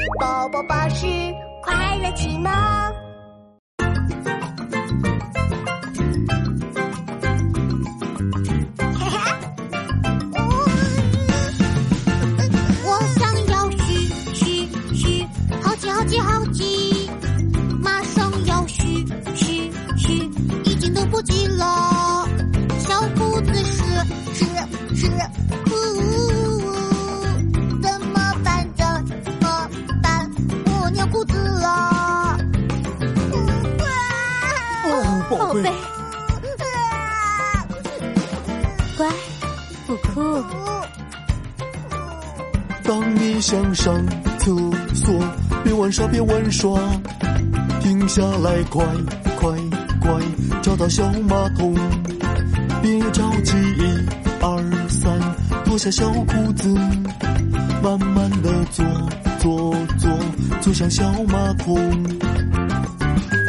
宝宝巴士快乐启蒙。我想要嘘，好奇，马上要嘘，已经等不及了。小兔子是，怎么办？我尿裤子了。 宝贝，乖，不哭。 当你想上厕所，别玩耍，停下来，快，找到小马桶。别着急，1、2、3，脱下小裤子，慢慢的坐向小马桶。